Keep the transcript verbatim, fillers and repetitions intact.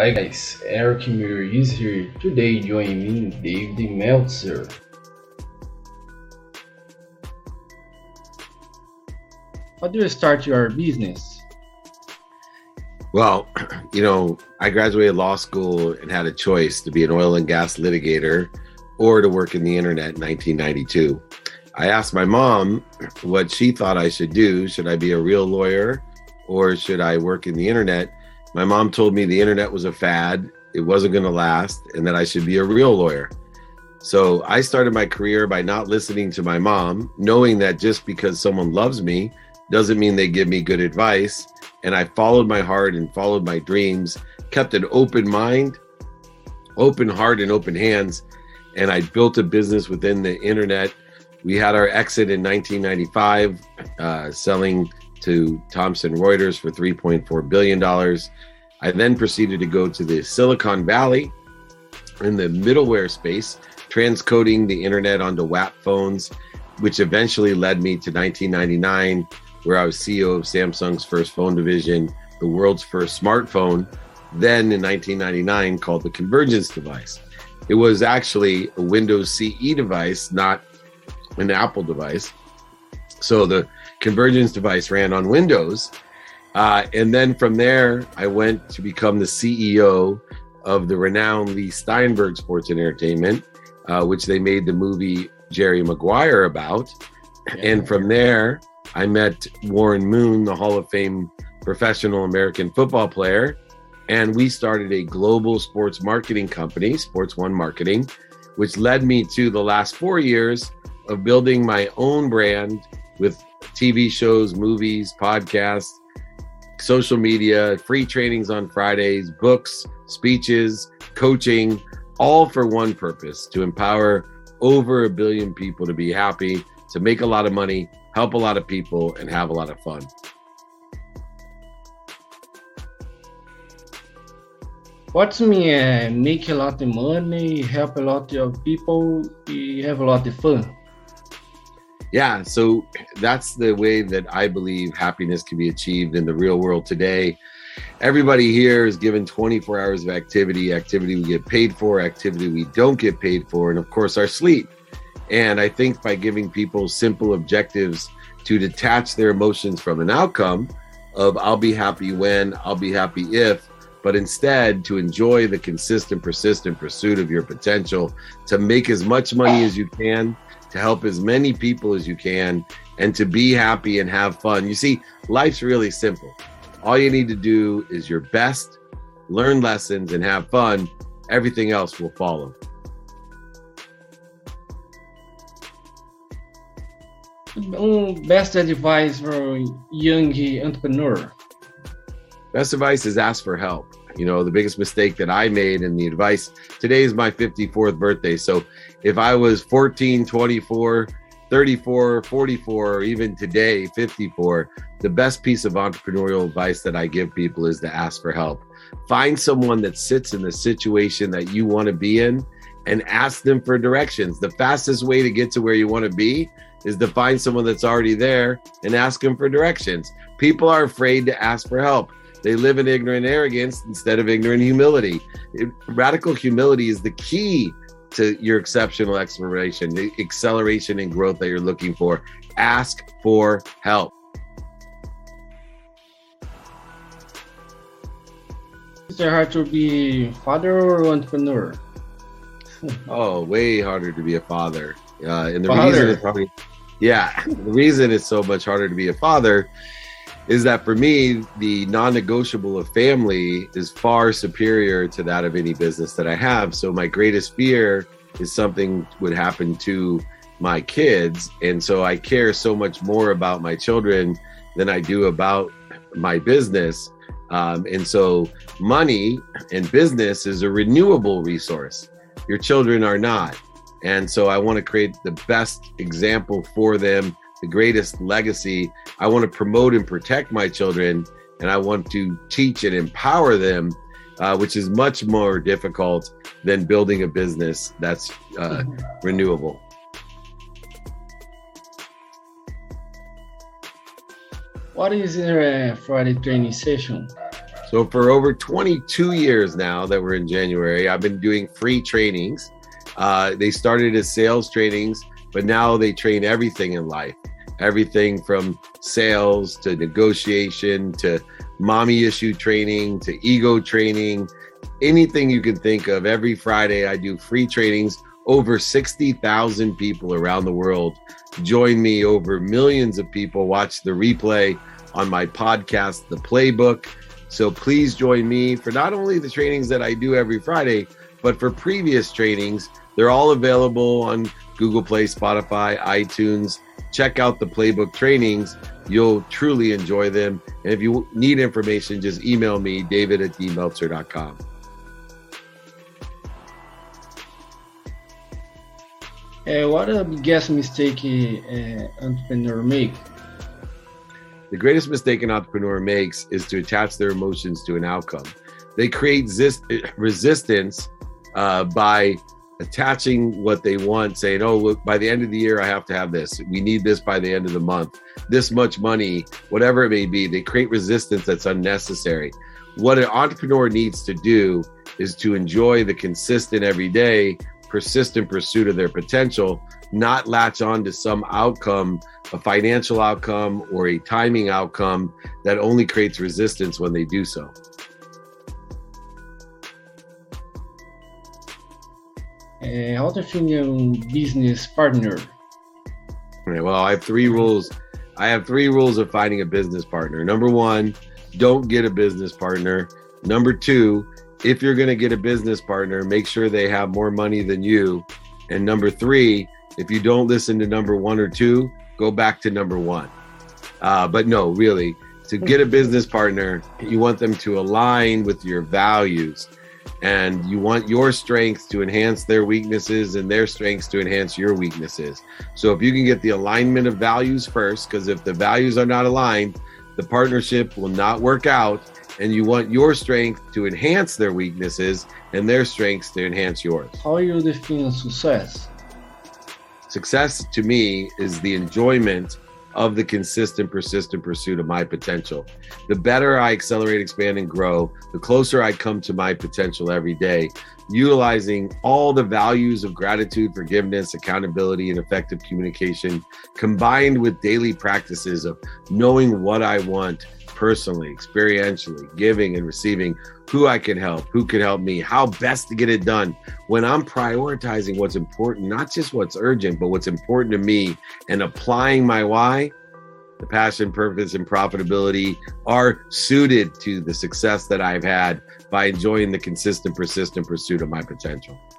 Hi guys, Eric Muir is here. Today joining me David Meltzer. How do you start your business? Well, you know, I graduated law school and had a choice to be an oil and gas litigator or to work in the internet in nineteen ninety-two. I asked my mom what she thought I should do. Should I be a real lawyer or should I work in the internet? My mom told me the internet was a fad, it wasn't going to last, and that I should be a real lawyer. So I started my career by not listening to my mom, knowing that just because someone loves me doesn't mean they give me good advice. And I followed my heart and followed my dreams, kept an open mind, open heart and open hands. And I built a business within the internet. We had our exit in nineteen ninety-five, uh, selling to Thomson Reuters for three point four billion dollars. I then proceeded to go to the Silicon Valley in the middleware space, transcoding the internet onto W A P phones, which eventually led me to nineteen ninety-nine, where I was C E O of Samsung's first phone division, the world's first smartphone, then in nineteen ninety-nine called the Convergence device. It was actually a Windows C E device, not an Apple device. So the Convergence device ran on Windows. Uh, and then from there, I went to become the C E O of the renowned Lee Steinberg Sports and Entertainment, uh, which they made the movie Jerry Maguire about. Yeah. And from there, I met Warren Moon, the Hall of Fame professional American football player. And we started a global sports marketing company, Sports One Marketing, which led me to the last four years of building my own brand with T V shows, movies, podcasts, social media, free trainings on Fridays, books, speeches, coaching, all for one purpose: to empower over a billion people to be happy, to make a lot of money, help a lot of people, and have a lot of fun. What's mean uh, make a lot of money, help a lot of people, have a lot of fun? Yeah, so that's the way that I believe happiness can be achieved in the real world today. Everybody here is given twenty-four hours of activity, activity we get paid for, activity we don't get paid for, and of course our sleep. And I think by giving people simple objectives to detach their emotions from an outcome of I'll be happy when, I'll be happy if, but instead to enjoy the consistent, persistent pursuit of your potential, to make as much money as you can, to help as many people as you can, and to be happy and have fun. You see, life's really simple. All you need to do is your best, learn lessons, and have fun. Everything else will follow. Um, best advice for young entrepreneur? Best advice is ask for help. You know, the biggest mistake that I made, and the advice, today is my fifty-fourth birthday. So if I was fourteen, twenty-four, thirty-four, forty-four, or even today, fifty-four, the best piece of entrepreneurial advice that I give people is to ask for help. Find someone that sits in the situation that you want to be in and ask them for directions. The fastest way to get to where you want to be is to find someone that's already there and ask them for directions. People are afraid to ask for help. They live in ignorant arrogance instead of ignorant humility. It, radical humility is the key to your exceptional exploration, the acceleration and growth that you're looking for. Ask for help. Is it hard to be father or entrepreneur? Oh, way harder to be a father. Uh, and the father. reason it's probably, yeah, the reason it's so much harder to be a father is that for me, the non-negotiable of family is far superior to that of any business that I have. So my greatest fear is something would happen to my kids. And so I care so much more about my children than I do about my business. Um, and so money and business is a renewable resource. Your children are not. And so I want to create the best example for them, the greatest legacy. I want to promote and protect my children, and I want to teach and empower them, uh, which is much more difficult than building a business that's uh, renewable. What is a Friday training session? So for over twenty-two years now that we're in January, I've been doing free trainings. Uh, they started as sales trainings, but now they train everything in life. Everything from sales to negotiation to mommy issue training to ego training, anything you can think of. Every Friday I do free trainings. Over sixty thousand people around the world join me. Over millions of people watch the replay on my podcast, The Playbook. So please join me for not only the trainings that I do every Friday, but for previous trainings. They're all available on Google Play, Spotify, iTunes. Check out the Playbook trainings. You'll truly enjoy them. And if you need information, just email me, david at d meltzer dot com. Uh, what a biggest mistake uh, entrepreneur make? The greatest mistake an entrepreneur makes is to attach their emotions to an outcome. They create zis- resistance uh, by attaching what they want, saying, oh, look, by the end of the year, I have to have this. We need this by the end of the month. This much money, whatever it may be. They create resistance that's unnecessary. What an entrepreneur needs to do is to enjoy the consistent, everyday, persistent pursuit of their potential, not latch on to some outcome, a financial outcome or a timing outcome that only creates resistance when they do so. Uh, how to find a business partner? Right, well, I have three rules. I have three rules of finding a business partner. Number one, don't get a business partner. Number two, if you're going to get a business partner, make sure they have more money than you. And number three, if you don't listen to number one or two, go back to number one. Uh, but no, really, to get a business partner, you want them to align with your values. And you want your strengths to enhance their weaknesses and their strengths to enhance your weaknesses. So if you can get the alignment of values first, because if the values are not aligned, the partnership will not work out. And you want your strength to enhance their weaknesses and their strengths to enhance yours. How you define success? Success to me is the enjoyment of the consistent, persistent pursuit of my potential. The better I accelerate, expand, and grow, the closer I come to my potential every day, utilizing all the values of gratitude, forgiveness, accountability, and effective communication, combined with daily practices of knowing what I want personally, experientially, giving and receiving, who I can help, who can help me, how best to get it done. When I'm prioritizing what's important, not just what's urgent, but what's important to me, and applying my why, the passion, purpose, and profitability are suited to the success that I've had by enjoying the consistent, persistent pursuit of my potential.